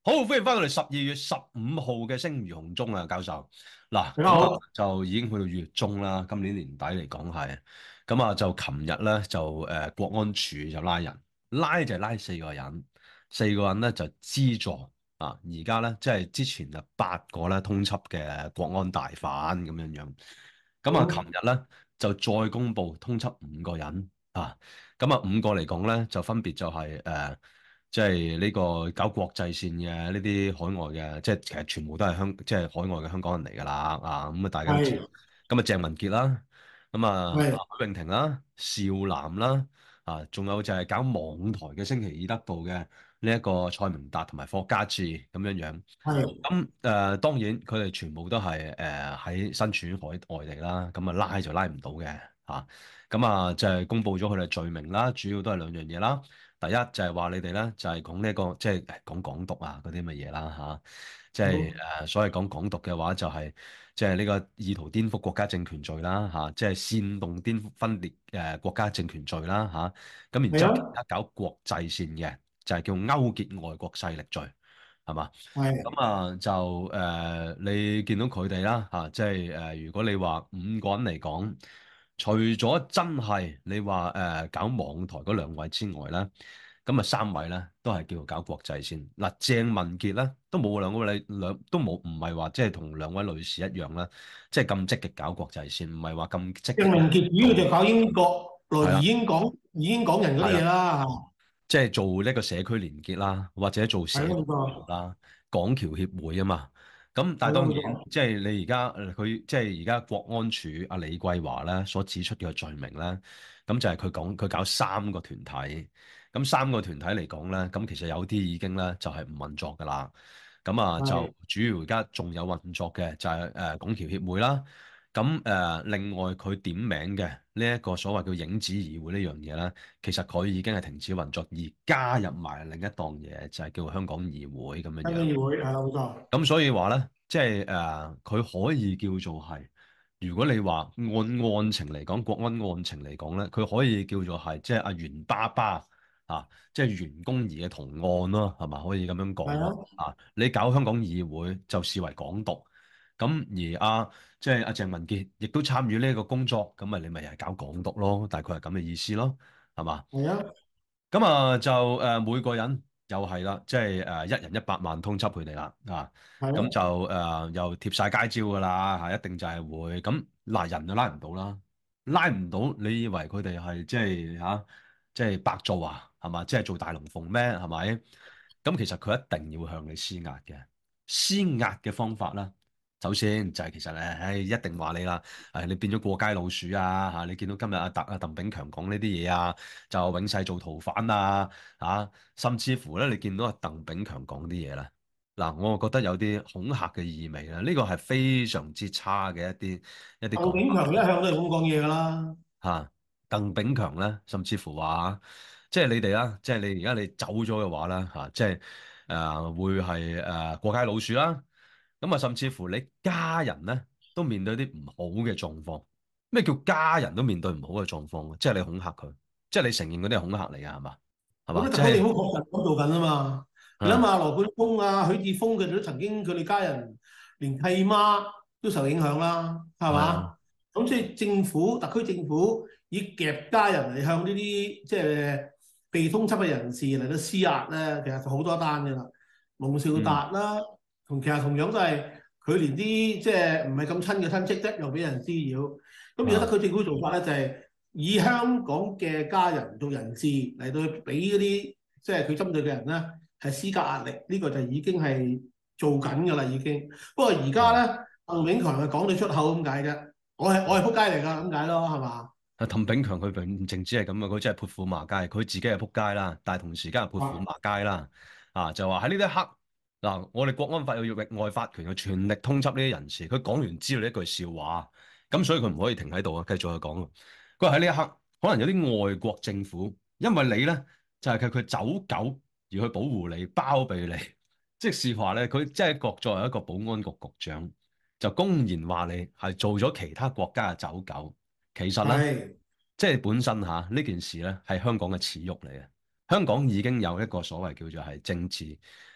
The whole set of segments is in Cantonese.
好，歡迎翻到嚟12月15號嘅聲如洪鐘啊，教授。嗱，咁啊你好。 就已經去到月中啦，今年年底嚟講係，咁啊就琴日咧就國安處就拉人，拉就係拉4個人，四個人咧就資助啊，而家咧即係之前就8個咧通緝嘅國安大犯咁樣樣，咁啊琴好。 日咧就再公布通緝5個人啊，咁啊5個嚟講咧就分別就係即係呢個搞國際線嘅呢啲海外嘅，即係其實全部都係即係海外嘅香港人嚟㗎啦，啊咁啊大家都知， 係咁啊鄭文傑啦，咁啊係許穎婷啦、邵嵐啦，啊仲有就係搞網台嘅星期二得到嘅呢一個蔡明達同埋霍家志咁樣樣， 係咁當然佢哋全部都係喺身處海外地啦，咁啊拉就拉唔到嘅嚇，咁啊就係公佈咗佢哋罪名啦，主要都係兩樣嘢啦。第一就係話你哋咧就係講呢個即係講港獨啊嗰啲咁嘅嘢啦嚇，即係好。 所謂講港獨嘅話就係即係呢個意圖顛覆國家政權罪啦嚇，即係煽動顛覆分裂國家政權罪啦嚇，咁然之後其係啊。 他搞國際線嘅就係叫勾結外國勢力罪係嘛？咁係啊就你見到佢哋啦嚇，即係如果你話5個人嚟講，除咗真係你話搞網台嗰2位之外咧，咁啊3位咧都係叫做搞國際線。嗱，鄭文傑咧都冇兩都冇，唔係話即係同2位女士一樣啦，即係咁積極搞國際線，唔係話咁積極咧鄭文傑主要做就搞英國來係啦移英港人嗰係啦。 啲嘢啦即係做呢個社區連結啦，或者做社嚇。係咯， 團冇錯。 啦，港僑協會啊嘛。咁但係係咯， 當然， 冇錯。 即係你而家佢即係而家國安處阿李桂華咧所指出嘅罪名咧，咁就係佢搞3個團體，咁3個團體嚟講咧，咁其實有啲已經咧就係唔運作㗎啦。咁啊係就主要而家仲有運作嘅就係港僑協會啦。咁另外佢點名嘅呢一個所謂叫影子議會呢樣嘢咧，其實佢已經係停止運作，而加入埋另一檔嘢，就係叫香港議會咁樣樣。 香港議會係啦，冇錯。 咁所以話咧，即係佢可以叫做係，如果你話案情嚟講，國安案情嚟講咧，佢可以叫做係即係阿袁爸爸啊，即係袁弓夷嘅同案咯，係嘛？可以咁樣講咯。 係啊。 啊，你搞香港議會就視為港獨，咁而即係阿鄭文傑亦都參與呢一個工作，咁咪你咪係搞港獨咯，大概係咁嘅意思咯，係嘛？ 係啊。 咁啊就每個人又係啦，即係1人100萬通緝佢哋啦，咁就係啊。 又貼晒街招噶啦嚇，一定就係會咁嗱，人就拉唔到啦，拉唔到，你以為佢哋係即係即係白做啊，係嘛？即係做大龍鳳咩？係咪？咁其實佢一定要向你施壓嘅，施壓嘅方法啦。首先就係其實一定話你啦，你變咗過街老鼠啊嚇！你見到今日鄧炳強講呢啲嘢啊，就永世做逃犯啊甚至乎咧，你見到鄧炳強講啲嘢咧，嗱，我覺得有啲恐嚇嘅意味啦，呢個係非常之差嘅一啲鄧講法炳強一向都係咁講嘢㗎啦。 嚇。鄧炳強咧，甚至乎話即係你哋啦，即係你而家你走咗嘅話啦即係會係過街老鼠啦。咁啊，甚至乎你家人咧都面對啲唔好嘅狀況。咩叫家人都面對唔好嘅狀況？即係你恐嚇佢，即係你承認嗰啲係恐嚇嚟㗎，係嘛？係嘛？ 咁啊， 即係特區政府確實咁做緊啊嘛。你諗啊， 下，羅冠聰啊、許智峰佢哋都曾經佢哋家人連契媽都受影響啦，係係啊， 嘛？咁即係特區政府以夾家人嚟向呢啲即係被通緝嘅人士嚟到施壓咧，其實就好多單㗎啦。龍兆嗯達啦，其實同樣都係佢連啲即係唔係咁親嘅親戚咧，又俾人滋擾。咁而家特啊， 區政府做法咧就係、以香港嘅家人做人質嚟到俾嗰啲即係佢針對嘅人咧，係施加壓力，呢、個就已經係做緊㗎啦，已經。不過而家係咧，鄧炳強係講到出口咁解啫，我係撲街嚟㗎咁解咯，係嘛？ 鄧炳強佢唔淨止係咁啊，佢真係潑婦罵街，佢自己係撲街啦，但係同時間係潑婦罵街啦。就話喺呢一刻嗱，我哋國安法要域外法權去全力通緝呢啲人士。佢講完之後呢一句笑話，咁所以佢唔可以停喺度啊，繼續去講。佢話喺呢一刻，可能有啲外國政府因為你咧就係佢走狗而去保護你、包庇你，即是話咧佢即係作為一個保安局局長，就公然話你係做咗其他國家嘅走狗。其實咧， 係即係本身呢件事咧係香港嘅恥辱嚟嘅。香港已經有一個所謂叫做係政治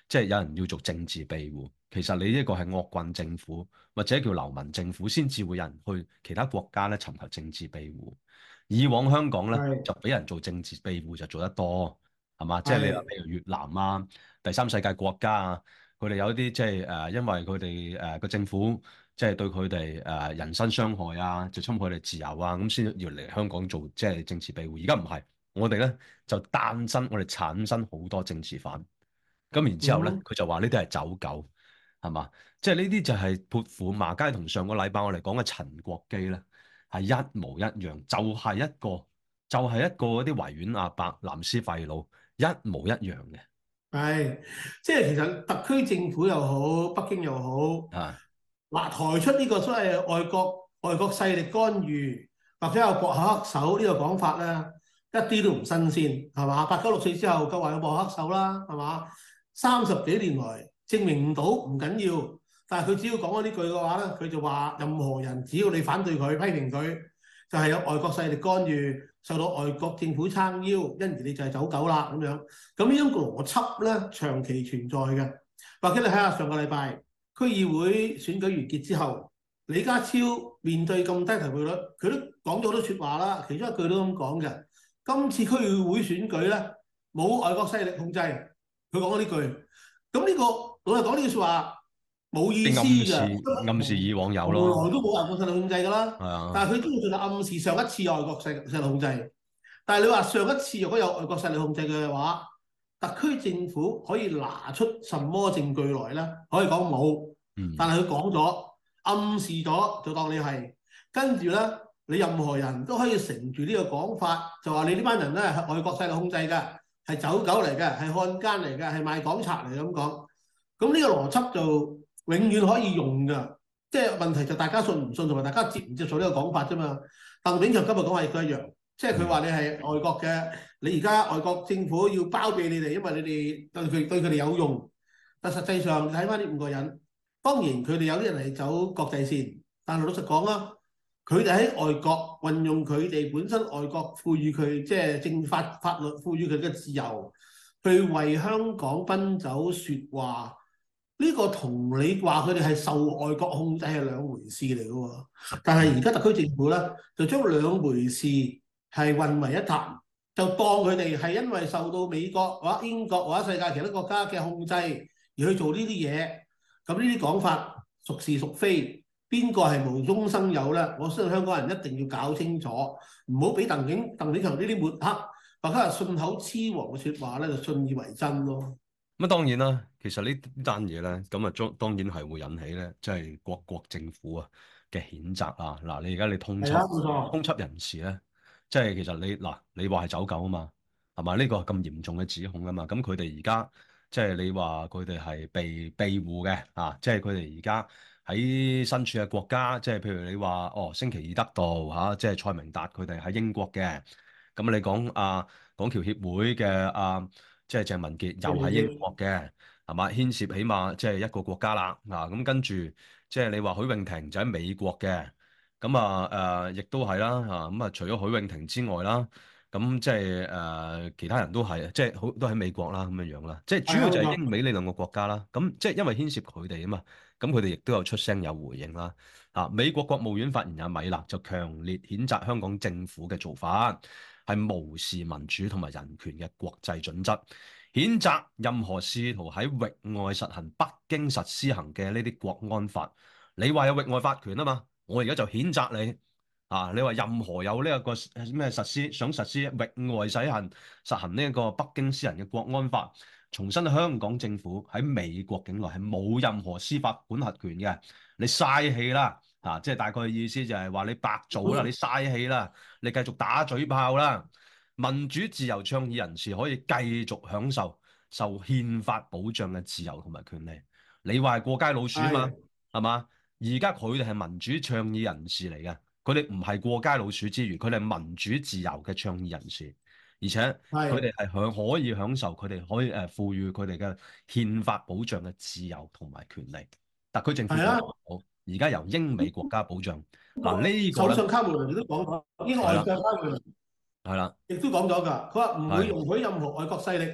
即係有人要做政治庇護。其實你呢個係惡棍政府或者叫流民政府，先至會有人去其他國家咧尋求政治庇護。以往香港咧係就俾人做政治庇護就做得多，係嘛？即係你話係譬如越南啊、第三世界國家啊，佢哋有啲即係因為佢哋個政府即係對佢哋人身傷害啊，就侵害佢哋自由啊，咁先要嚟香港做即係政治庇護。而家唔係，我哋咧就誕生，我哋產生好多政治犯。咁然之後咧， 嗯佢就話呢啲係走狗，係嘛？即係呢啲就係潑婦罵街，同上個禮拜我哋講嘅陳國基咧係一模一樣，就係一個嗰啲維園阿伯、藍絲廢佬一模一樣嘅係，即係其實特區政府又好，北京又好， 啊。 嗱抬出呢個所謂外國勢力干預或者有幕後黑手呢個講法咧，一啲都唔新鮮，係嘛？896四之後，夠話有幕後黑手啦，係嘛？30幾年來證明唔到唔緊要，但係佢只要講咗呢句嘅話咧，佢就話任何人只要你反對佢、批評佢，就係有外國勢力干預，受到外國政府撐腰，因而你就係走狗啦咁樣。咁呢種邏輯咧長期存在嘅，或者你睇下上個禮拜區議會選舉完結之後，李家超面對咁低投票率，佢都講咗好多説話啦，其中一句都咁講嘅。今次區議會選舉咧冇外國勢力控制，佢講咗呢句。咁呢個老實講呢句説話冇意思啲暗示以往有從來咯， 都冇外國勢力控制㗎啦。 係啊， 但係佢都仲係暗示上一次有外國勢力控制。但係你話上一次如果有外國勢力控制嘅話，特區政府可以拿出什麼證據來咧？可以講冇，但嗯係佢講咗，暗示咗就當你係，跟住咧你任何人都可以乘住呢個講法，就話你呢班人咧係外國勢力控制嘅，係走狗嚟嘅，係漢奸嚟嘅，係賣港賊嚟咁講。咁呢個邏輯就永遠可以用㗎，即係問題就大家信唔信同埋大家接唔接受呢個講法啫嘛。鄧炳強今日講話亦都一樣。即係佢話你係外國嘅，你而家外國政府要包庇你哋，因為你哋對佢哋有用。但實際上睇翻呢5個人，當然佢哋有啲人係走國際線，但係老實講啦，佢哋喺外國運用佢哋本身外國賦予佢即係法律賦予佢嘅自由，去為香港奔走説話。呢個同你話佢哋係受外國控制係兩回事嚟嘅喎。但係而家特區政府咧就將兩回事係混為一談，就當佢哋係因為受到美國或者英國或者世界其他國家嘅控制而去做呢啲嘢。咁呢啲講法孰是孰非，邊個係無中生有咧？我相信香港人一定要搞清楚，唔好俾鄧炳強呢啲抹黑或者係信口雌黃嘅説話咧，就信以為真咯。 咁當然啦，其實呢單嘢咧，咁啊當然係會引起咧，即係各國政府啊嘅譴責啊。嗱，你而家你通係啊， 緝冇錯。 通緝人士咧，即係其實你話係走狗啊嘛，係嘛？呢個係咁嚴重嘅指控啊嘛。咁佢哋而家即係你話佢哋係被庇護嘅啊，即係佢哋而家喺身處嘅國家，即係譬如你話哦，星期二得到嚇，即係蔡明達佢哋喺英國嘅。咁你講港僑協會嘅即係鄭文傑又喺英國嘅，係嘛？牽涉起碼即係一個國家啦。嗱，咁跟住即係你話許穎婷就喺美國嘅，咁亦都係啦。咁除咗許穎婷之外啦，咁即係其他人都係即係好都喺美國啦咁樣樣啦。即係主係啊， 要就係冇錯。 英美呢兩個國家啦。咁即係因為牽涉佢哋啊嘛，咁佢哋亦都有出聲有回應啦。美國國務院發言人米勒就強烈譴責香港政府嘅做法係無視民主同埋人權嘅國際準則，譴責任何試圖喺域外實行北京實施行嘅呢啲國安法。你話有域外法權啊嘛，我而家就譴責你你話任何有呢一個咩想實施域外實行呢一個北京私人嘅國安法，重申香港政府喺美國境內係冇任何司法管轄權嘅，你嘥氣啦！即係大概嘅意思就係話你白做啦，你嘥氣啦，你繼續打嘴炮啦。民主自由倡議人士可以繼續享受憲法保障嘅自由同埋權利。你話係過街老鼠啊嘛， 係係嘛？而家佢哋係民主倡議人士嚟嘅，佢哋唔係過街老鼠之餘，佢哋係民主自由嘅倡議人士，而且佢係哋係可以享受佢哋可以賦予佢哋嘅憲法保障嘅自由同埋權利。特區政府講係啊， 好，而家由英美國家保障。嗱呢個咧首相卡梅倫亦都講咗，呢個係啦， 外相卡梅倫係啦， 亦都講咗㗎。佢話唔會係容許任何外國勢力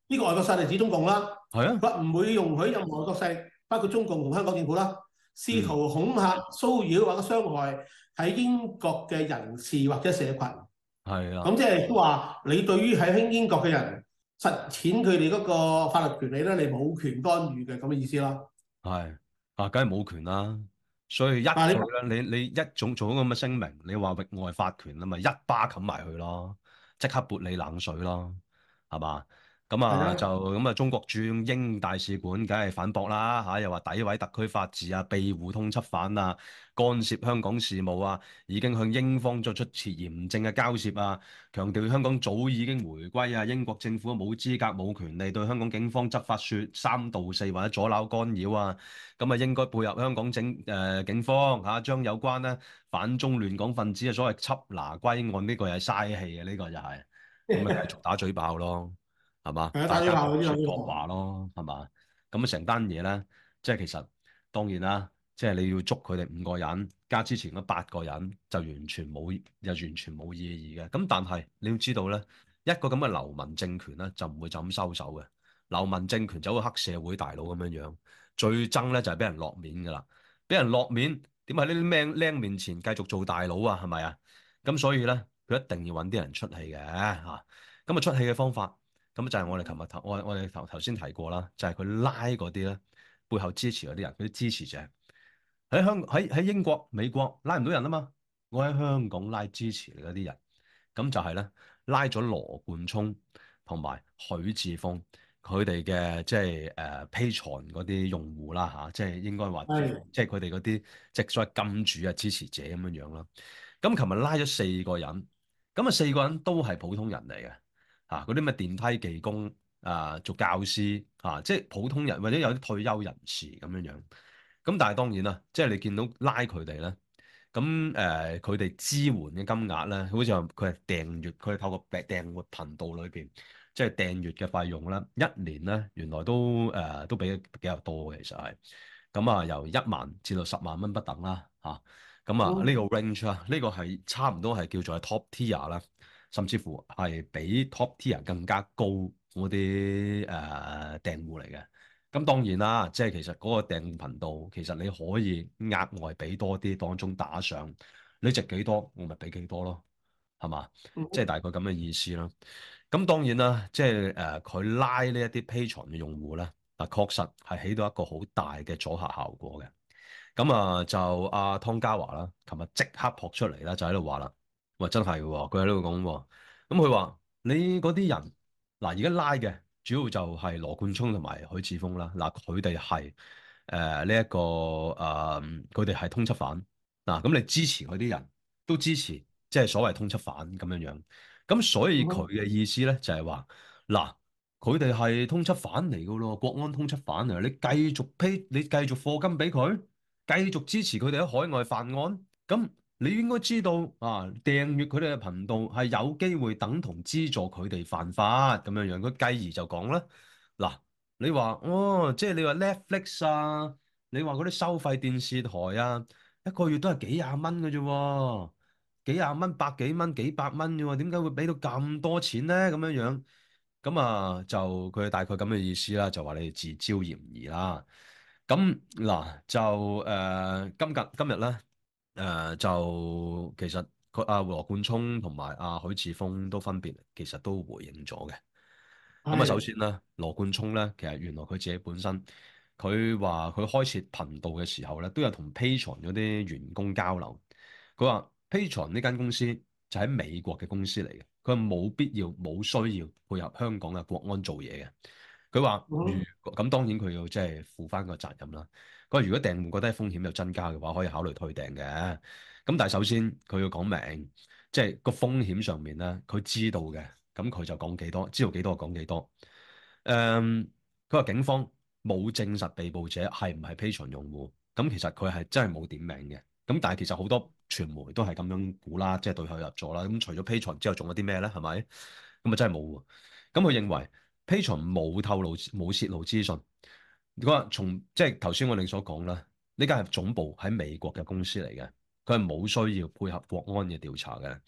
呢個外國勢力指中共啦， 係啊， 佢話唔會容許任何外國勢力，包括中共同香港政府啦，試嗯， 圖恐嚇、騷擾或者傷害喺英國嘅人士或者社群。 係啦， 咁即係都話，你對於喺英國嘅人實踐佢哋嗰個法律權利咧，你冇權干預嘅咁嘅意思啦。 係啊，梗係冇權啦。所以一但係你佢咧，你一種做咗咁嘅聲明，你話域外法權啊嘛，一巴冚埋佢咯，即刻潑你冷水咯，係嘛？咁啊就係啦， 咁啊，中國駐英大使館梗係反駁啦嚇，又話詆毀特區法治啊，庇護通緝犯啊，干涉香港事務啊，已經向英方作出嚴正嘅交涉啊，強調香港早已經回歸啊，英國政府冇資格冇權利對香港警方執法説三道四或者阻撓干擾啊，咁啊應該配合香港警方嚇，將有關咧反中亂港分子嘅所謂緝拿歸案，呢個係嘥氣嘅，呢個就係咁啊繼續打嘴炮咯。係嘛？ 係啊，打大家各嘴炮嗰啲有説各啲話咯，係嘛？咁啊，成單嘢咧，即係其實當然啦，即係你要捉佢哋5個人，加之前嗰8個人，就完全冇意義嘅。咁但係你要知道咧，一個咁嘅流民政權咧，就唔會就咁收手嘅。流民政權就好似黑社會大佬咁樣樣，最憎咧就係俾人落面㗎啦。俾人落面，點喺呢啲僆面前繼續做大佬啊？係咪啊？咁所以咧，佢一定要揾啲人出氣嘅嚇。咁啊，出氣嘅方法。咁就係我哋琴日我哋頭先提過啦，就係佢拉嗰啲咧背後支持嗰啲人，嗰啲支持者喺英國、美國拉唔到人啊嘛，我喺香港拉支持嗰啲人，咁就係咧拉咗羅冠聰同埋許智峰佢哋嘅即係Patreon 嗰啲用戶啦嚇，即係應該話係即係佢哋嗰啲即係所謂金主啊支持者咁樣樣啦。咁琴日拉咗4個人，咁啊4個人都係普通人嚟嘅。嗰啲咩電梯技工做教師即係普通人或者有啲退休人士咁樣樣。咁但係當然啦，即係你見到拉佢哋咧，咁佢哋支援嘅金額咧，好似話佢係訂閱，佢係透過訂閱頻道裏邊，即係訂閱嘅費用啦，一年咧原來都俾得比較多嘅，其實係。咁啊，由1萬至到10萬蚊不等啦，咁啊呢個 range 啊，呢個係差唔多係叫做係 top tier 啦。甚至乎係比 top tier 更加高嗰啲訂戶嚟嘅。咁當然啦，即係其實嗰個訂頻道，其實你可以額外俾多啲，當中打上你值幾多，我咪俾幾多咯，係嘛？即係大概咁嘅意思啦。咁當然啦，即係佢拉呢一啲 Patreon 嘅用戶咧，嗱確實係起到一個好大嘅阻嚇效果嘅。咁啊就阿湯家驊啦，琴日即刻撲出嚟啦，就喺度話啦。喂，真係嘅喎，佢喺度講喎。咁佢話你嗰啲人嗱，而家拉嘅主要就係羅冠聰同埋許智峰啦。嗱，佢哋係呢一個佢哋係通緝犯。嗱，咁你支持嗰啲人都支持，即係所謂通緝犯咁樣樣。咁所以佢嘅意思咧就係話嗱，佢哋係通緝犯嚟嘅咯，國安通緝犯嚟，你繼續課金俾佢，繼續支持佢哋喺海外犯案，咁。你應該知道啊，訂閱佢哋嘅頻道係有機會等同資助佢哋犯法咁樣樣。佢繼而就講啦，嗱，你話哦，即係你話 Netflix 啊，你話嗰啲收費電視台啊，一個月都係幾廿蚊嘅啫喎，幾廿蚊、百幾蚊、幾百蚊啫喎，點解會俾到咁多錢咧？咁樣樣，咁啊就佢大概咁嘅意思啦，就話你哋自招嫌疑啦。咁嗱就今日咧。就其實佢阿羅冠聰同埋阿許智峰都分別其實都回應咗嘅。咁啊，首係， 先咧，羅冠聰咧，其實原來佢自己本身，佢話佢開設頻道嘅時候咧，都有同 Patreon 嗰啲員工交流。佢話 Patreon 呢間公司就喺美國嘅公司嚟嘅，佢話冇必要冇需要配合香港嘅國安做嘢嘅。佢話咁當然佢要即係負翻個責任啦。佢話如果訂戶覺得風險有增加嘅話，可以考慮退訂嘅。咁但係首先佢要講明，即係個風險上面咧，佢知道嘅，咁佢就講幾多，知道幾多就講幾多。佢話警方冇證實被捕者係唔係 Patreon 用戶，咁其實佢係真係冇點名嘅。咁但係其實好多傳媒都係咁樣估啦，即係對號入座啦。咁除咗 Patreon 之後，仲有啲咩咧？係咪？咁啊真係冇喎。咁佢認為 Patreon 冇透露冇泄露資訊。佢話從即係頭先我哋所講啦，呢間係總部喺美國嘅公司嚟嘅，佢係冇需要配合國安嘅調查嘅。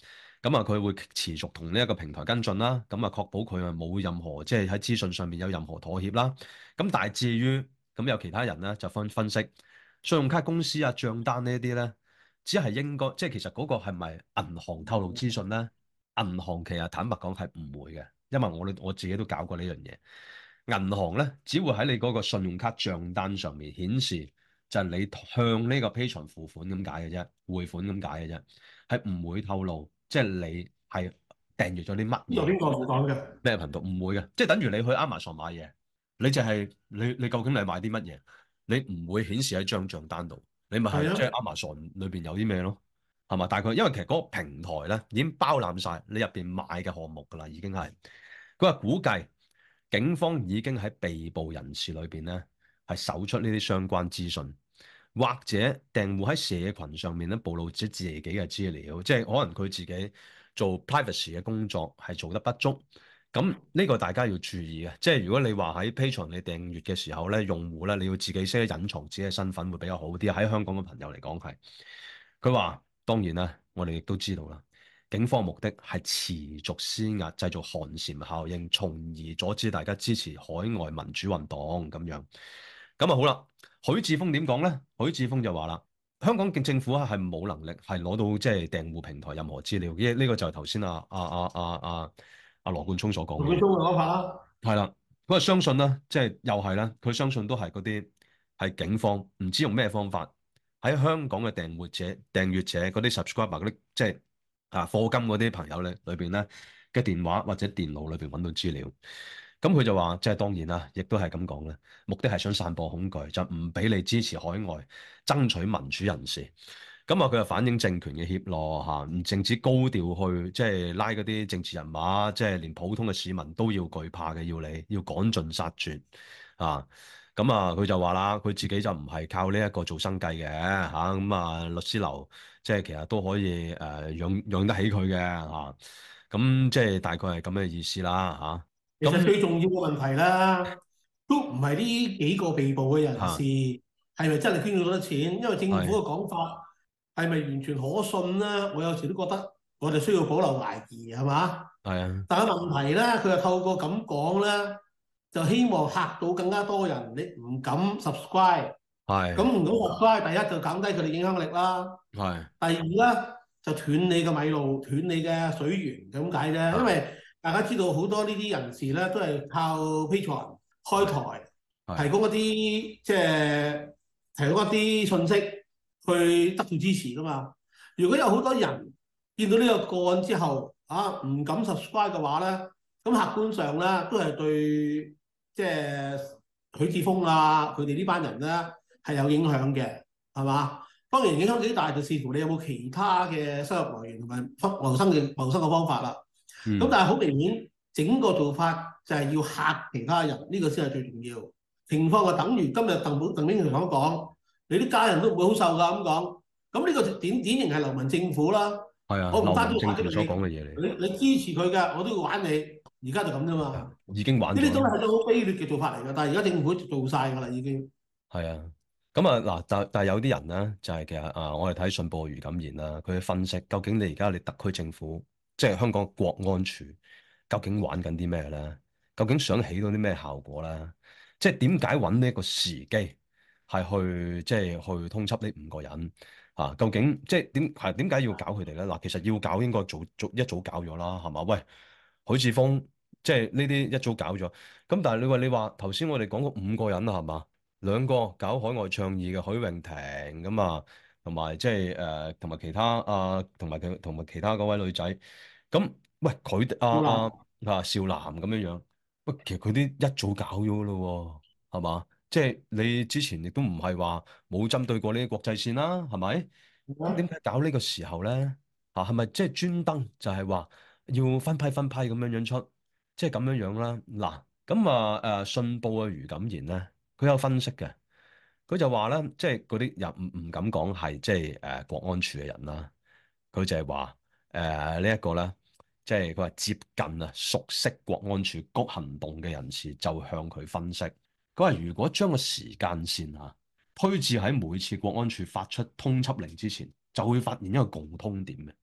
咁啊，佢會持續同呢一個平台跟進啦，咁啊確保佢啊冇任何即係喺資訊上面有任何妥協啦。咁但係至於咁有其他人咧就分析，信用卡公司啊帳單呢啲咧，只係應該即係其實嗰個係咪銀行透露資訊咧？銀行其實坦白講係唔會嘅，因為我自己都搞過呢樣嘢。銀行咧只會喺你嗰個信用卡帳單上面顯示，就係你向呢個 Patreon 付款咁解嘅啫，匯款咁解嘅啫，係唔會透露即係你係訂閱咗啲乜嘢邊度邊個唔講嘅？ 咩頻道，唔會嘅，即係等於你去 Amazon 買嘢，你就係你究竟你買啲乜嘢，你唔會顯示喺張帳單度，你咪係即係係啊， Amazon 裏邊有啲咩咯，係嘛？大概因為其實嗰個平台咧已經包攬晒你入邊買嘅項目㗎啦，已經係佢話估計警方已經喺被捕人士裏邊咧係搜出呢啲相關資訊。或者訂戶喺社群上面咧暴露咗自己嘅資料，即係可能佢自己做 privacy 嘅工作係做得不足。咁呢個大家要注意嘅，即係如果你話喺 Patreon 你訂閱嘅時候咧，用戶咧你要自己識得隱藏自己嘅身份會比較好啲。喺香港嘅朋友嚟講係，佢話當然啦，我哋亦都知道啦，警方目的係持續施壓，製造寒蟬效應，從而阻止大家支持海外民主運動咁樣。咁啊好啦。許智峰點講咧？許智峰就話啦，香港嘅政府係冇能力係攞到即係訂戶平台任何資料，呢個就係頭先阿羅冠聰所講嘅嘢。 陸冠聰嘅講法啦。 係啦，佢話相信咧，即係又係啦，佢相信都係嗰啲係警方唔知用咩方法喺香港嘅訂閱者嗰啲 subscriber 嗰啲即係課金嗰啲朋友咧裏邊咧嘅電話或者電腦裏邊揾到資料。咁佢就話，即係當然啦，亦都係咁講咧，目的係想散播恐懼，就唔俾你支持海外爭取民主人士。咁啊，佢又反映政權嘅怯懦嚇，唔淨止高調去即係拉嗰啲政治人物，即係連普通嘅市民都要懼怕嘅，要趕盡殺絕啊！咁啊，佢就話啦，佢自己就唔係靠呢一個做生計嘅嚇，咁律師樓即係其實都可以養得起佢嘅嚇，咁即係大概係咁嘅意思啦嚇。咁其實最重要嘅問題啦，都唔係呢幾個被捕嘅人士嚇係咪真係捐咗好多錢，因為政府係嘅講法係咪完全可信咧？我有時都覺得我哋需要保留懷疑，係嘛？ 係啊但係問題咧，佢又透過咁講咧，就希望嚇到更加多人，你唔敢 subscribe，咁係唔敢 subscribe，第一就減低佢哋影響力啦， 係第二咧就斷你嘅米路，斷你嘅水源咁解啫，因啊為大家知道好多呢啲人士咧都係靠 Patreon 開係台，提係供一啲即係提供一啲信息去得到支持噶嘛。如果有好多人見到呢個個案之後，唔敢 subscribe 嘅話咧，咁客觀上咧都係對即係許智峰啊佢哋呢班人咧係有影響嘅，係嘛？當然影響幾大就視乎你有冇其他嘅收入來源同埋謀生嘅方法啦。咁嗯但係好明顯，整個做法就係要嚇其他人，呢個先係最重要。情況就等於今日鄧炳強所講，你啲家人都唔會好受㗎咁講。咁呢個典型係流氓政府啦。 係啊，流我唔單止氓政權所玩咗你， 講嘅嘢嚟， 你支持佢嘅，我都要玩你。而家就咁啫嘛。 已經玩呢啲都咗啦。 係一種好卑劣嘅做法嚟㗎。但係而家政府做晒㗎啦，已經。 係啊，咁啊嗱，但係有啲人咧，就係其實我哋睇信報嘅余錦賢啦，佢分析究竟你特區政府，即係香港國安處，究竟玩緊啲咩咧？究竟想起到啲咩效果咧？即係點解揾呢一個時機係去即係去通緝呢5個人啊？究竟即係點解要搞佢哋咧？嗱，其實要搞應該一早搞咗啦，係嘛？喂，許智峰即係呢啲一早搞咗，咁但係你話頭先我哋講過5個人啦，係嘛？2個搞海外倡議嘅許穎婷咁啊，同埋即係同埋其他同埋其他嗰位女仔，咁喂佢哋好啦， 少男咁樣樣，喂其實佢啲一早搞咗咯喎，係嘛？即係你之前亦都唔係話冇針對過呢啲國際線啦，係咪？咁點解搞呢個時候咧？係咪即係專登就係話要分批咁樣樣出，即係咁樣樣啦？嗱，咁信報嘅余錦賢咧。佢有分析嘅，佢就話咧，即係嗰啲又唔敢講係即係國安處嘅人啦，佢就係話呢一個咧，即係佢話接近熟悉國安處局行動嘅人士就向佢分析，佢話如果將個時間線推至喺每次國安處發出通緝令之前，就會發現一個共通點嘅，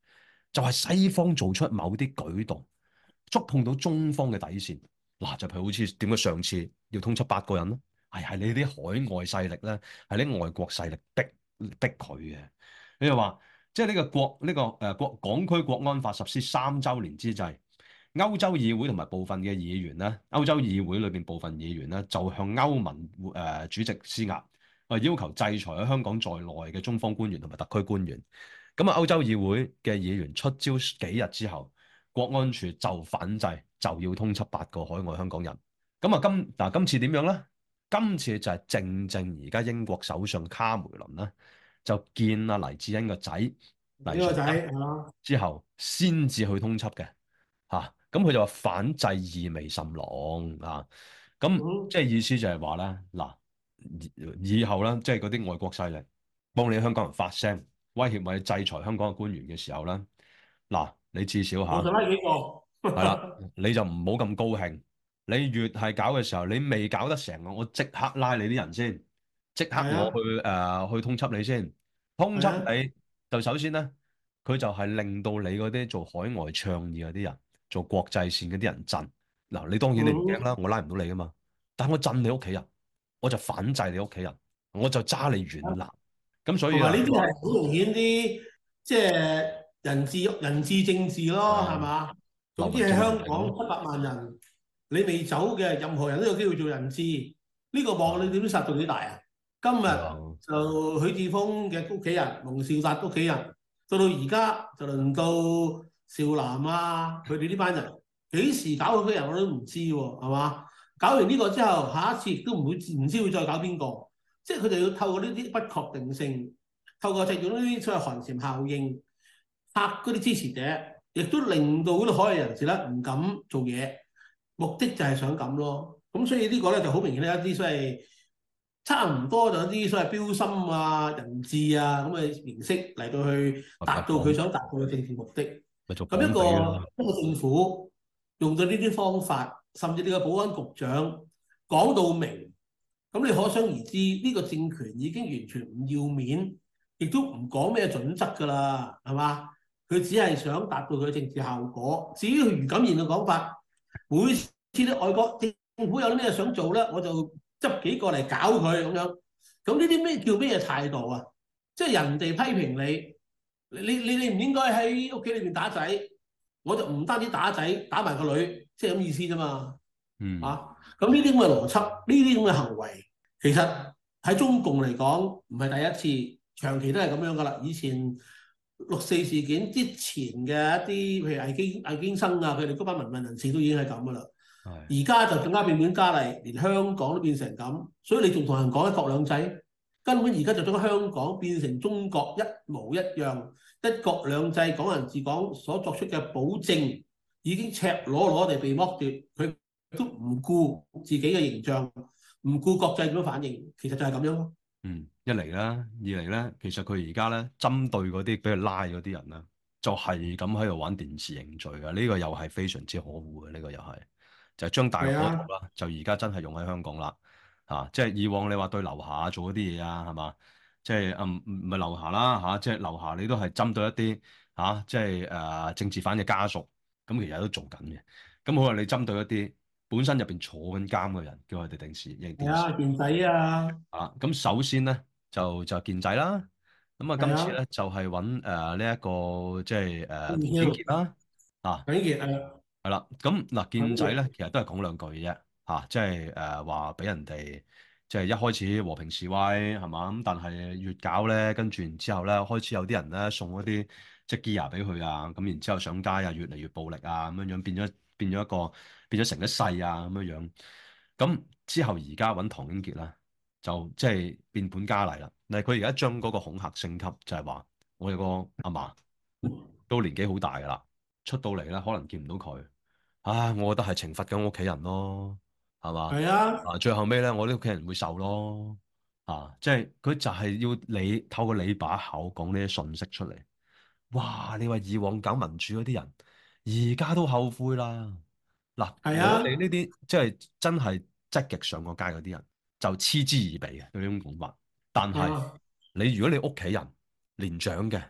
就係西方做出某啲舉動，觸碰到中方嘅底線。嗱，就譬如好似點解上次要通緝8個人咧？係你啲海外勢力咧，係啲外國勢力逼佢嘅。你又話，即係呢個港區國安法實施3週年之際，歐洲議會同埋部分嘅議員咧，歐洲議會裏邊部分議員咧，就向歐盟主席施壓，要求制裁喺香港在內嘅中方官員同埋特區官員。咁啊，歐洲議會嘅議員出招幾日之後，國安處就反制，就要通緝8個海外香港人。咁啊，今次點樣咧？今次就係正正而家英國首相卡梅倫咧，就見阿黎智英個仔黎呢個仔瑞恩係嘛？ 之後，先至去通緝嘅嚇。咁佢就話反制意味甚濃啊。咁嗯， 即係意思就係話咧，嗱，以後咧，即係嗰啲外國勢力幫你香港人發聲，威脅或者制裁香港嘅官員嘅時候咧，嗱，你至少我就拉幾個， 係啦，你就唔好咁高興。你越係搞嘅時候，你未搞得成，我即刻拉你啲人先，即刻係啊， 去通緝你先。通緝係啊， 你就首先咧，佢就係令到你嗰啲做海外倡議嗰啲人，做國際線嗰啲人震。嗱，你當然你唔驚嗯， 啦，我拉唔到你噶嘛。但我震你屋企人，我就反制你屋企人，我就揸你軟肋。咁所以啊， 同埋呢啲係好明顯啲，即係人治政治咯，係係啊， 嘛？總之喺流民政治香港嚟咯， 700萬人，你未走嘅任何人都有機會做人質，呢個網你點殺到幾大啊？今日係啊， 就許智峰嘅屋企人、龍少達屋企人，到而家就輪到少南啊，佢哋呢班人幾時搞到佢人我都唔知喎，係嘛？搞完呢個之後，下一次亦都唔知會再搞邊個，即係佢哋要透過呢啲不確定性，透過製造呢啲所謂寒蟬效應，嚇嗰啲支持者，亦都令到嗰啲海外人士咧唔敢做嘢，目的就係想咁咯。咁所以呢個咧就好明顯咧一啲所謂差唔多就一啲所謂標心啊、人質啊咁嘅形式嚟到去達到佢咪想達到嘅政治目的。 咪做咁一綁匪咯。 個一個政府用到呢啲方法，甚至呢個保安局長講到明，咁你可想而知呢個政權已經完全唔要面，亦都唔講咩準則㗎啦，係嘛？佢只係想達到佢嘅政治效果。至於余錦賢嘅講法，每次啲外國政府有啲咩想做咧，我就執幾個嚟搞佢咁樣。咁呢啲咩叫咩態度啊？即係人哋批評你，你唔應該喺屋企裏邊打仔，我就唔單止打仔，打埋個女，即係咁意思啫嘛。 嗯， 啊，咁呢啲咁嘅邏輯，呢啲咁嘅行為，其實喺中共嚟講唔係第一次，長期都係咁樣噶啦。以前6·4事件之前嘅一啲，譬如魏京生啊，佢哋嗰班民運人士都已經係咁噶啦。 係。 而家就更加變本加厲，連香港都變成咁，所以你仲同人講一國兩制，根本而家就將香港變成中國一模一樣，一國兩制、港人治港所作出嘅保證已經赤裸裸地被剝奪，佢都唔顧自己嘅形象，唔顧國際點樣反應，其實就係咁樣咯。 嗯，一嚟啦，二嚟咧，其實佢而家咧針對嗰啲俾佢拉嗰啲人咧，就係咁喺度玩電視認罪嘅，呢個又係非常之可惡嘅，呢個又係就係將大陸係啊， 嗰套啦，就而家真係用喺香港啦，即係以往你話對劉霞做嗰啲嘢啊，係嘛？即係唔係劉霞啦即係劉霞你都係針對一啲即係政治犯嘅家屬，咁其實都做緊嘅，咁好啦，你針對一啲本身入邊坐緊監嘅人，叫佢哋認電視。 係啊，健仔啊， 咁首先咧就健仔啦，咁啊係啊， 今次咧就係揾呢一個即係唐英李超、 傑啦，啊李傑啊， 係啦，咁嗱健仔咧李傑， 其實都係講兩句嘅啫，即係話俾人哋即係一開始和平示威係嘛，咁但係越搞咧，跟住然之後咧開始有啲人咧送嗰啲即係 gear 俾佢啊，咁然之後上街啊越嚟越暴力啊咁樣樣變咗成一世啊咁樣樣，咁之後而家揾唐英傑啦。就即係變本加厲啦。但係佢而家將嗰個恐嚇升級，就係話我哋個阿嫲都年紀好大噶啦，出到嚟咧可能見唔到佢。唉，我覺得係懲罰緊我屋企人咯，係嘛？ 係啊， 最後尾咧，我啲屋企人會受咯。即係佢就係要你透過你把口講呢啲信息出嚟。哇！你話以往搞民主嗰啲人，而家都後悔啦。嗱，我哋係啊， 呢啲即係真係積極上過街嗰啲人，就嗤之以鼻嘅對呢種講法。但係啊， 你如果你屋企人年長嘅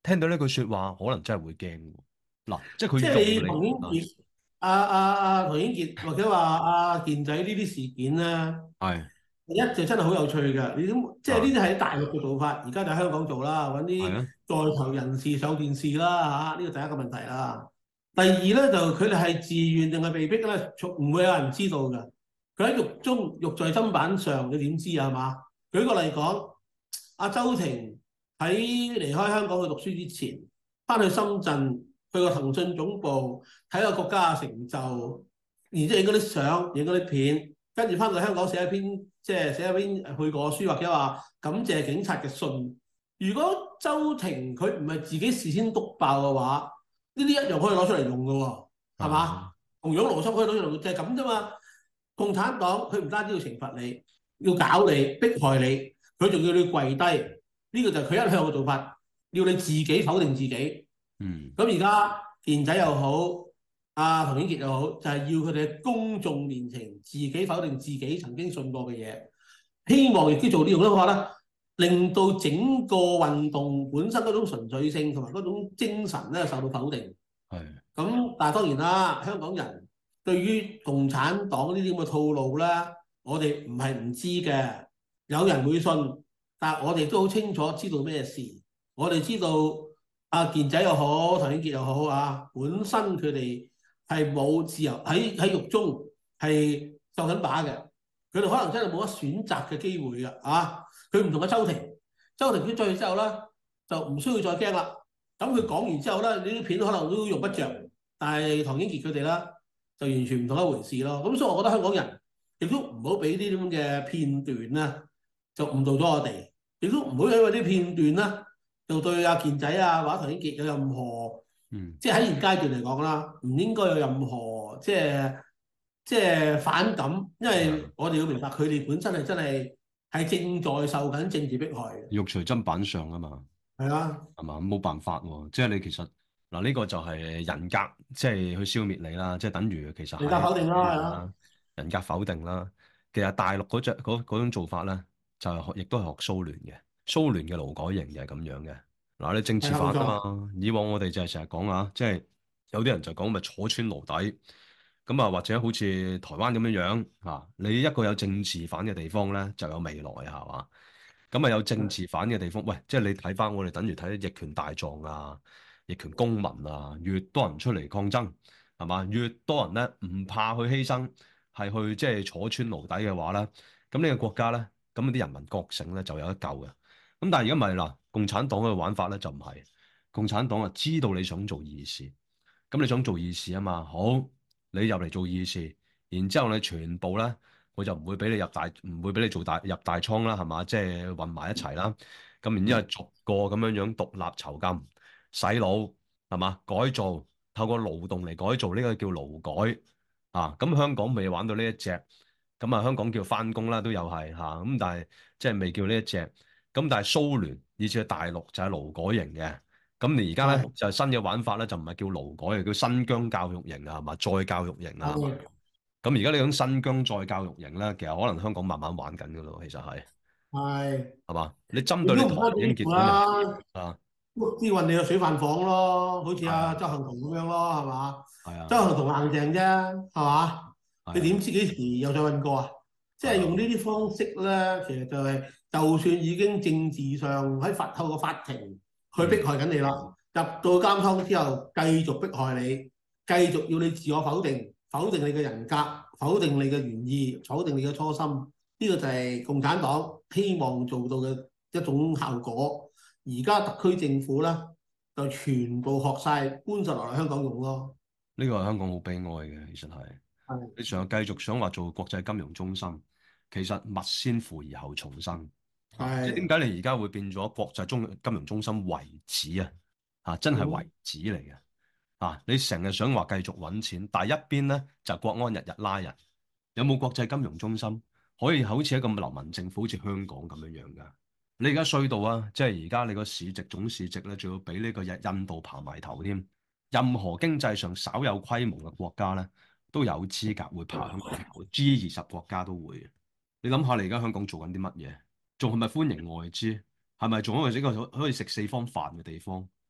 聽到呢句説話，可能真係會驚喎。嗱，即係即佢用你係唐英啊， 傑、唐英傑或者話健仔呢啲事件咧， 係第一就真係好有趣嘅。你點即係呢啊， 啲喺大陸嘅做法，而家就喺香港做啦，揾啲係啊， 在囚人士上電視啦嚇，呢個第一個問題啦。第二咧就佢哋係自願定係被逼咧，唔會有人知道嘅。佢喺獄中獄在砧板上，你點知啊？係嘛？舉個例講，阿周庭喺離開香港去讀書之前，翻去深圳去個騰訊總部睇個國家嘅成就，然之後影嗰啲相、影嗰啲片，跟住翻到香港寫一篇，即係寫一篇去過書或者話感謝警察嘅信。如果周庭佢唔係自己事先篤爆嘅話，呢啲一樣可以攞出嚟用嘅喎，係係嘛？同樣邏輯可以攞出嚟用，就係咁啫嘛。共產黨佢唔單止要懲罰你，要搞你、迫害你，佢仲要你跪低。呢個就係佢一向嘅做法，要你自己否定自己。 嗯咁而家健仔又好，唐英傑又好，就係要佢哋喺公眾面前自己否定自己曾經信過嘅嘢，希望亦都做呢種嘅話咧，令到整個運動本身嗰種純粹性同埋嗰種精神咧受到否定。 係咁但係當然啦，香港人對於共產黨呢啲咁嘅套路咧，我哋唔係唔知嘅，有人會信，但係我哋都好清楚知道咩事。我哋知道健仔又好，唐英傑又好本身佢哋係冇自由喺獄中係受緊把嘅，佢哋可能真係冇乜選擇嘅機會嘅佢唔同嘅周庭，周庭出咗去之後咧，就唔需要再驚啦。咁佢講完之後咧，呢啲片可能都用不着，但係唐英傑佢哋咧就完全唔同一回事咯。咁所以我覺得香港人亦都唔好俾呢啲咁嘅片段咧，就誤導咗我哋，亦都唔好因為啲片段咧，就對健仔或者唐英傑有任何嗯即係喺現階段嚟講啦，唔應該有任何即係反感，因為係啊， 我哋要明白佢哋本身係真係正在受緊政治迫害嘅， 肉隨砧板上啊嘛。 係啊， 係嘛？冇辦法喎，即係你其實嗱呢個就係人格，即係去消滅你啦，即係等於其實人格係否定啦，係啊。 人啦，人格否定啦。其實大陸嗰種做法咧，就係亦都係學蘇聯嘅，蘇聯嘅勞改營就係咁樣嘅。嗱，你政治係啊，冇犯啊錯， 嘛，以往我哋就係成日講即係有啲人就講咪坐穿牢底，咁或者好似台灣咁樣樣你一個有政治犯嘅地方咧，就有未來係嘛？咁有政治犯嘅地方，喂，即係你睇翻我哋等於睇逆權大狀逆權公民越多人出嚟抗爭，係嘛？越多人咧唔怕去犧牲，係去即係坐穿牢底嘅話咧，咁呢個國家咧，咁啲人民覺醒咧就有得救嘅。咁但係而家唔係啦，共產黨嘅玩法咧就唔係，共產黨知道你想做義士，咁你想做義士啊嘛，好，你入嚟做義士，然之後你全部咧。我就唔會俾你唔會俾你做入大倉啦，係嘛？即係混埋一齊啦。咁然之後逐個咁樣樣獨立囚禁、洗腦，係嘛？改造，透過勞動嚟改造，呢個叫勞改咁香港未玩到呢一隻，咁香港叫翻工啦，都有係咁但係即係未叫呢一隻。咁但係蘇聯以至係大陸就係勞改型嘅。咁你而家咧係就係新嘅玩法咧，就唔係叫勞改，叫新疆教育營係嘛？再教育營係嘛？ 係咁而家呢種新疆再教育營咧，其實可能香港慢慢玩緊噶咯，其實係， 係嘛？你針亦對你唐都唔單止呢英傑嗰人個啦， 啊， 啲運你去水飯房咯，好似係啊， 周幸彤咁樣咯，係嘛？ 係啊， 周幸彤硬淨啫，係嘛？你係啊， 點知幾時又再運過啊？即係啊， 係用呢啲方式咧，其實就係、就算已經政治上喺透過法庭去嗯， 迫害緊你啦，入到監倉之後繼續迫害你，繼續要你自我否定，否定你嘅人格，否定你嘅原意，否定你嘅初心。呢、個就係共產黨希望做到嘅一種效果。而家特區政府咧就全部學晒搬晒落嚟香港用咯。 呢個係香港好悲哀嘅，其實係係你繼續想話做國際金融中心，其實勿先腐而後重生即係點係， 解你而家會變咗國際金融中心為止真係為止嚟嘅你成日想話繼續揾錢，但係一邊咧就國安日日拉人，有冇國際金融中心可以好似一個流氓政府，好似香港咁樣樣㗎？你而家衰到即係而家你個總市值咧，仲要比呢個印度爬埋頭添。任何經濟上稍有規模嘅國家咧，都有資格會爬香港頭，G20國家都會。你諗下，你而家香港做緊啲乜嘢？仲係咪歡迎外資？係咪仲係一個可以食四方飯嘅地方？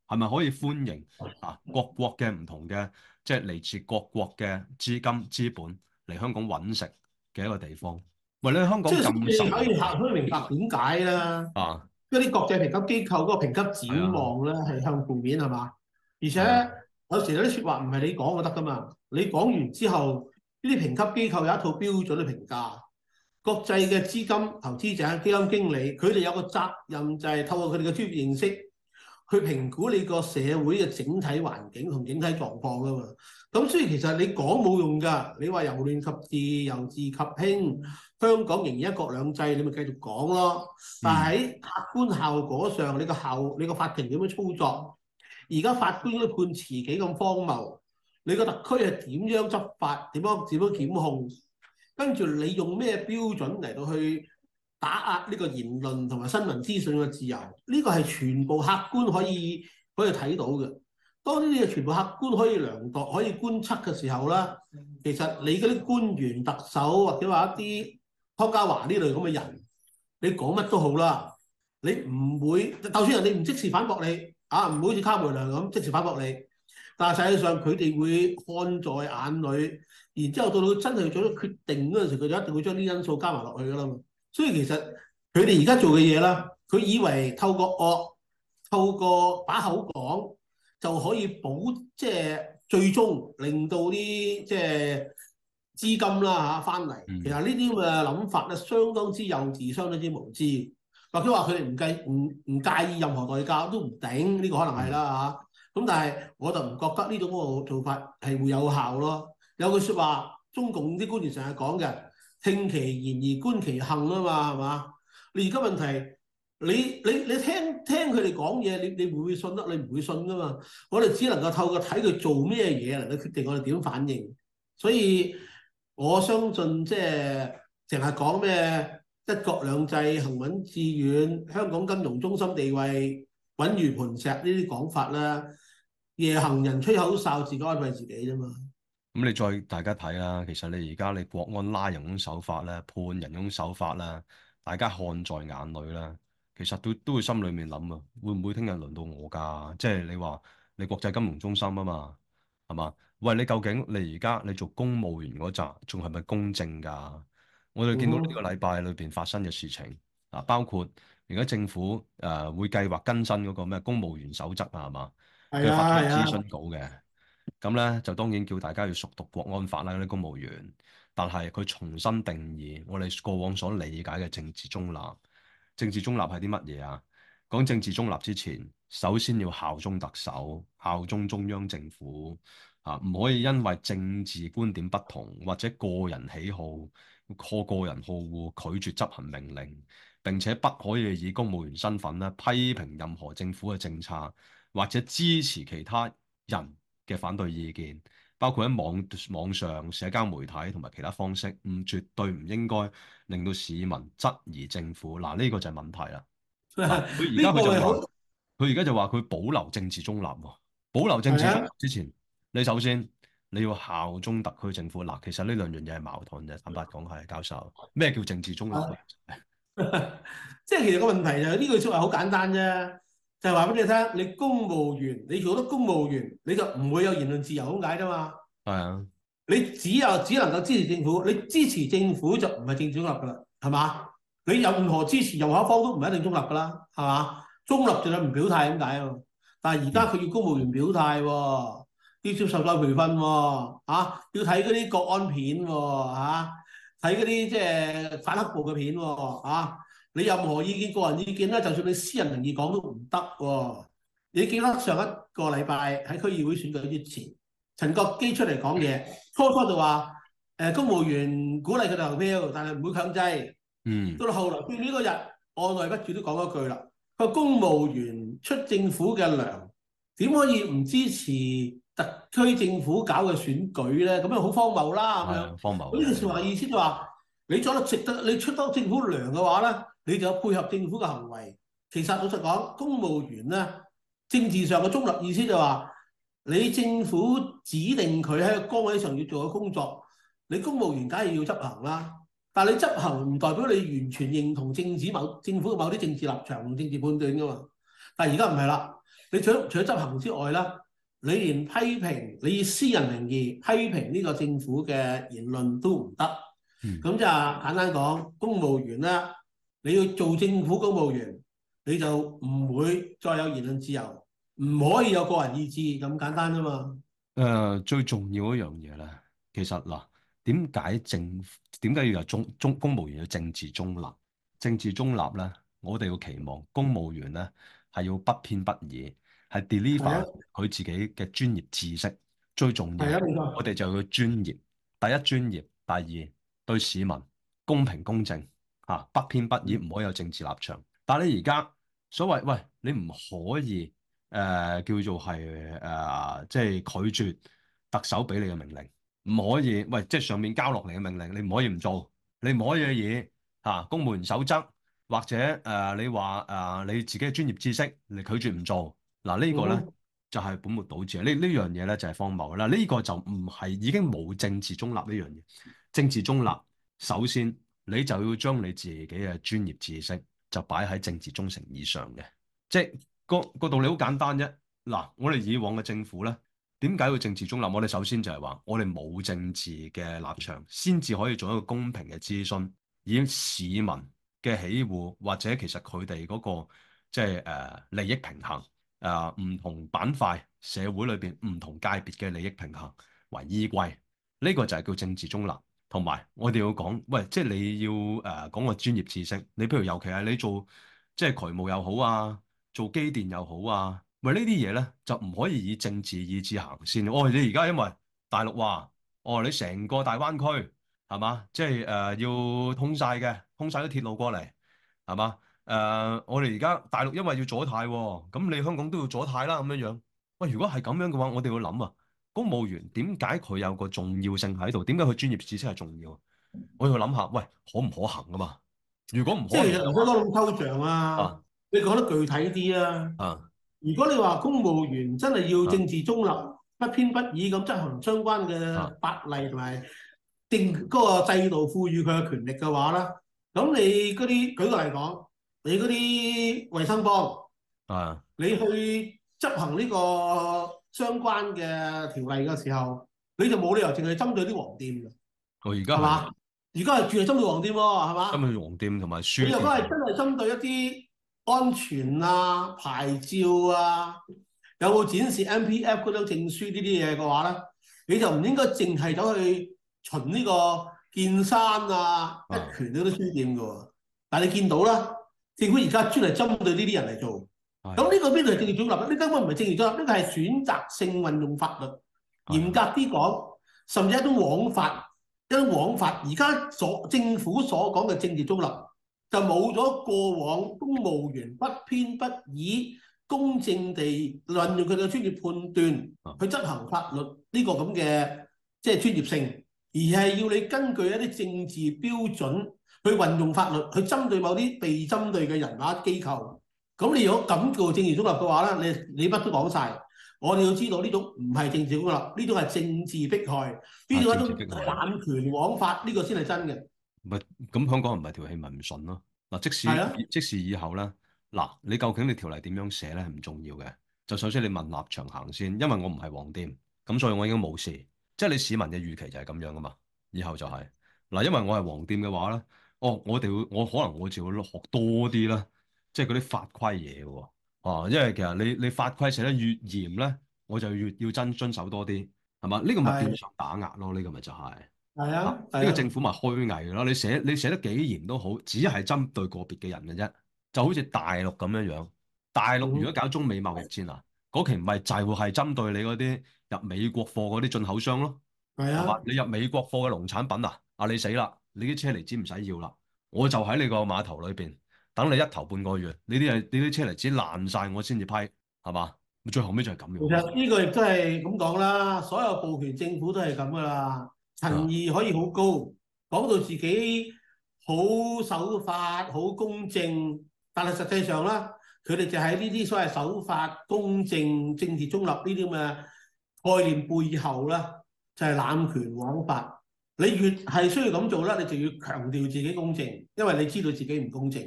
係咪可以歡迎各國嘅唔同嘅，即係嚟自各國嘅資金資本嚟香港揾食嘅一個地方？喂，你喺香即係港咁你可以受人可以明白點解啦。 啊， 一啲國際評級機構嗰個評級係啊， 展望咧係向負面係嘛？而且係啊， 有時有啲説話唔係你講就得噶嘛，你講完之後，呢啲評級機構有一套標準去評價。國際嘅資金投資者、基金經理，佢哋有個責任就係透過佢哋嘅專業認識，去評估你個社會嘅整體環境同整體狀況噶嘛。咁所以其實你講冇用㗎，你話由亂及治，由治及興，香港仍然一國兩制，你咪繼續講咯。但係喺客觀效果上，你個法庭點樣操作？而家法官嗰啲判詞幾咁荒謬，你個特區係點樣執法？點樣檢控？跟住你用咩標準嚟到去打壓呢個言論同埋新聞資訊嘅自由？呢個係全部客觀可以睇到嘅。當呢啲嘢全部客觀可以量度、可以觀測嘅時候啦，其實你嗰啲官員、特首或者話一啲湯家驊呢類咁嘅人，你講乜都好啦，你唔會，就算人哋唔即時反駁你，唔會好似卡梅良咁即時反駁你，但係實際上佢哋會看在眼裏。然之後到真係做咗決定嗰陣時，佢就一定會將啲因素加埋落去㗎啦嘛。所以其實佢哋而家做嘅嘢啦，佢以為透過把口講就可以即係最終令到啲即係資金啦翻嚟。其實呢啲咁嘅諗法咧，相當之幼稚，相當之無知。或者話佢哋唔介意任何代價都唔頂，呢個可能係啦嚇。咁但係我就唔覺得呢種嗰個做法係會有效咯。有句説話，中共啲官員成日講嘅，聽其言而觀其行啊嘛，係嘛？你而家問題，你聽佢哋講嘢，你會唔會信得？你唔會信噶嘛？我哋只能夠透過睇佢做咩嘢嚟到決定我哋點反應。所以我相信即係成日講咩一國兩制行穩致遠，香港金融中心地位穩如磐石呢啲講法啦，夜行人吹口哨，自己安慰自己啫嘛。 咁你再大家睇啦，其實你而家你國安拉人嗰種手法咧，判人嗰種手法啦，大家看在眼裏啦，其實都會心裏面諗啊，會唔會聽日輪到我㗎？即係你話你國際金融中心啊嘛，係嘛？喂，你究竟你而家你做公務員嗰陣，仲係咪公正㗎？我哋見到呢個禮拜裏邊發生嘅事情包括而家政府會計劃更新嗰個咩公務員守則啊，係嘛？佢發出諮詢稿嘅。咁咧就當然叫大家要熟讀國安法啦，嗰啲公務員。但係佢重新定義我哋過往所理解嘅政治中立。政治中立係啲乜嘢啊？講政治中立之前，首先要效忠特首、效忠中央政府唔可以因為政治觀點不同或者個人喜好、個人好惡拒絕執行命令，並且不可以以公務員身份咧批評任何政府嘅政策或者支持其他人嘅反對意見，包括喺網上社交媒體同埋其他方式，絕對唔應該令到市民質疑政府。嗱，呢個就係問題啦。佢而家佢就話，佢保留政治中立喎。保留政治中立之前，你首先你要效忠特區政府。嗱，其實呢兩樣嘢係矛盾嘅。坦白講係，教授，咩叫政治中立？ 即係其實個問題就係呢句説話好簡單啫。就係話俾你聽，你公務員，你做得公務員，你就唔會有言論自由咁解啫嘛。 係啊， 你只能夠支持政府，你支持政府就唔係政治中立噶啦，係嘛？你任何支持任何一方都唔一定中立噶啦，係嘛？中立就係唔表態咁解啊。但係而家佢要公務員表態喎，要接受再培訓喎，要睇嗰啲國安片喎，睇嗰啲即係反黑暴嘅片喎，你任何意見、個人意見咧，就算你私人名義講都唔得喎。你記得上一個禮拜喺區議會選舉之前，陳國基出嚟講嘢，初就話公務員鼓勵佢哋投票，但係唔會強制。到到後來變呢個日，按捺不住都講一句啦。佢話公務員出政府嘅糧，點可以唔支持特區政府搞嘅選舉咧？咁樣好荒謬啦，咁樣。 荒謬。 呢句説話意思就話，你做得值得，你出得政府糧嘅話咧，你就有配合政府嘅行為。其實老實講，公務員咧政治上嘅中立意思就話，你政府指定佢喺個崗位上要做嘅工作，你公務員梗係要執行啦。但係你執行唔代表你完全認同政府嘅某啲政治立場同政治判斷噶嘛。但係而家唔係啦， 你除咗執行之外啦，你連批評你以私人名義批評呢個政府嘅言論都唔得。 嗯。 咁就簡單講，公務員啦，你要做政府公務員，你就唔會再有言論自由，唔可以有個人意志咁簡單啫嘛。 最重要一樣嘢咧，其實嗱，點解要有公務員要政治中立？政治中立咧，我哋要期望公務員咧係要不偏不倚，係係啊， deliver 佢自己嘅專業知識。最重要， 係啊，冇錯。 我哋就要專業。第一專業，第二對市民公平公正嚇，不偏不倚，唔可以有政治立場。但係你而家所謂喂，你唔可以。叫做係即係拒絕特首俾你嘅命令，唔可以喂，即係上面交落嚟嘅命令，你唔可以唔做，你唔可以嘅嘢公務員守則或者你話你自己嘅專業知識，你拒絕唔做，嗱、呢個咧嗯就係本末倒置啊！呢樣嘢咧就係荒謬啦，呢個就唔係已經冇政治中立呢樣嘢。政治中立，首先你就要將你自己嘅專業知識就擺喺政治忠誠以上嘅，即係。個道理好簡單啫。嗱，我哋以往嘅政府咧，點解要政治中立？我哋首先就係話，我哋冇政治嘅立場，先至可以做一個公平嘅諮詢，以市民嘅喜惡或者其實佢哋嗰個即係利益平衡唔同板塊社會裏邊唔同界別嘅利益平衡為依歸。呢個就係叫政治中立。同埋我哋要講，喂，即係你要講個專業知識。你譬如尤其係你做即係渠務又好啊。做機電又好啊，喂呢啲嘢咧就唔可以以政治意志行先。哦，你而家因為大陸話，哦你成個大灣區係嘛，即係要通晒嘅，通晒啲鐵路過嚟係嘛？我哋而家大陸因為要左軚喎，咁你香港都要左軚啦咁樣樣。喂，如果係咁樣嘅話，我哋要諗啊，公務員點解佢有個重要性喺度？點解佢專業知識係重要？我要諗下，喂，可唔可行啊嘛？如果唔可即係其實唔使行嘅話， 講咁抽象啊， 啊你講得具體啲啊。 啊如果你話公務員真係要啊政治中立、不偏不倚咁執行相關啊嘅法例同埋定嗰個制度賦予佢嘅權力嘅話咧，咁你嗰啲舉個例講，你嗰啲衞生幫， 啊！ 你去執行呢個相關嘅條例嘅時候，你就冇理由淨係針對啲黃店嘅， 我而家係啊。 係嘛？而家係住係針對黃店喎，係嘛？ 今日黃店同埋書你如果係店， 真係針對一啲安全啊、牌照啊，有冇展示 MPF 嗰張證書呢啲嘢嘅話咧，你就唔應該淨係走去巡呢個見山啊、一啊， 拳嗰啲書店嘅喎。但係你見到啦，政府而家專係針對呢啲人嚟做，咁係呢個邊度係政治中立？呢根本唔係政治中立，呢個係選擇性運用法律。嚴係格啲講，甚至一種枉法，一種枉法。而家政府所講嘅政治中立，就冇咗過往公務員不偏不倚、公正地運用佢嘅專業判斷啊， 去執行法律呢個咁嘅即係專業性，而係要你根據一啲政治標準去運用法律，去針對某啲被針對嘅人或機構。咁你如果咁做政治中立嘅話咧，你乜都講晒。我哋要知道呢種唔係政治中立，呢種係政治迫害，呢種係一種政治迫害， 濫權枉法，呢個先係真嘅。 唔係咁香港唔係條氣咪唔順咯。嗱，即使係啊， 即使以後咧，嗱，你究竟你條例點樣寫咧係唔重要嘅，就首先你問立場行先，因為我唔係黃店，咁所以我已經冇事。即係你市民嘅預期就係咁樣噶嘛，以後就係嗱，因為我係黃店嘅話咧，哦，我可能我就要學多啲啦，即係嗰啲法規嘢喎，因為其實你法規寫得越嚴咧，我就越要遵守多啲，係嘛？呢個咪變係相打壓咯，呢個咪就係。啊！ 係啊， 呢個係啊， 政府咪虛偽咯？你寫得幾嚴都好，只係針對個別嘅人嘅啫。就好似大陸咁樣樣，大陸如果嗯， 搞中美貿易戰啊，嗰期咪就係針對你嗰啲入美國貨嗰啲進口商咯，係嘛？ 係啊， 你入美國貨嘅農產品啊，你死啦！你啲車厘子唔使要啦，我就喺你個碼頭裏邊等你一頭半個月，你啲車厘子爛晒，我先至批，係嘛？最後尾就係咁其樣咯。 實呢個亦都係咁講啦，所有暴權政府都係咁噶啦，陳啊， 義可以好高，講到自己好守法、好公正，但係實際上咧，佢哋就喺呢啲所謂守法、公正、政治中立呢啲咁嘅概念背後咧，就係濫權枉法。你越係需要咁做咧，你就要強調自己公正，因為你知道自己唔公正。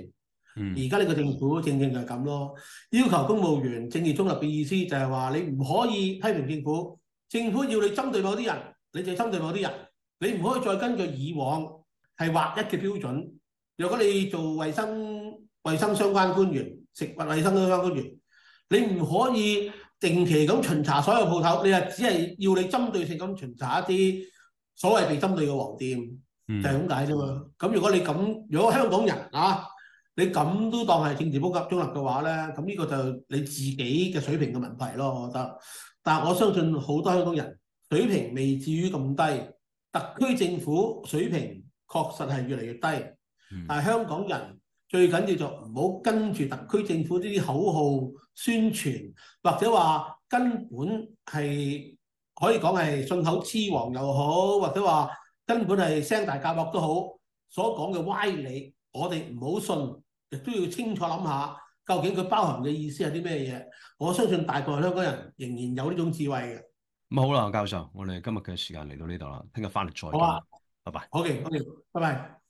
嗯而家呢個政府正正就係咁咯，要求公務員政治中立嘅意思就係話你唔可以批評政府，政府要你針對某啲人，你就針對某啲人，你唔可以再根據以往係劃一嘅標準。如果你做衞生相關官員、食物衞生相關官員，你唔可以定期咁巡查所有鋪頭，你係只係要你針對性咁巡查一啲所謂被針對嘅黃店，就係咁解啫嘛。咁如果你咁，如果香港人啊，你咁都當係政治中立嘅話咧，咁呢個就你自己嘅水平嘅問題咯，我覺得。但係我相信好多香港人水平未至於咁低，特區政府水平確實係越嚟越低。但係香港人最緊要就唔好跟住特區政府呢啲口號宣傳，或者話根本係可以講係信口雌黃又好，或者話根本係聲大夾惡都好，所講嘅歪理，我哋唔好信，亦都要清楚諗下，究竟佢包含嘅意思係啲咩嘢？我相信大部分香港人仍然有呢種智慧嘅。 咁好啦，教授，我哋今日嘅時間嚟到呢度啦，聽日翻嚟再好啊， 傾，拜拜。 好嘅，好嘅，拜拜。